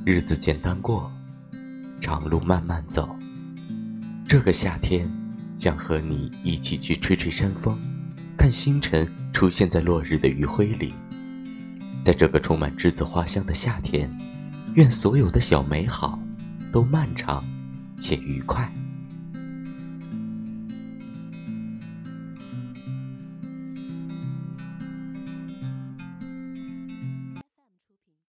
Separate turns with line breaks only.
日子简单过，长路慢慢走。这个夏天，想和你一起去吹吹山风，看星辰出现在落日的余晖里。在这个充满栀子花香的夏天，愿所有的小美好都漫长且愉快。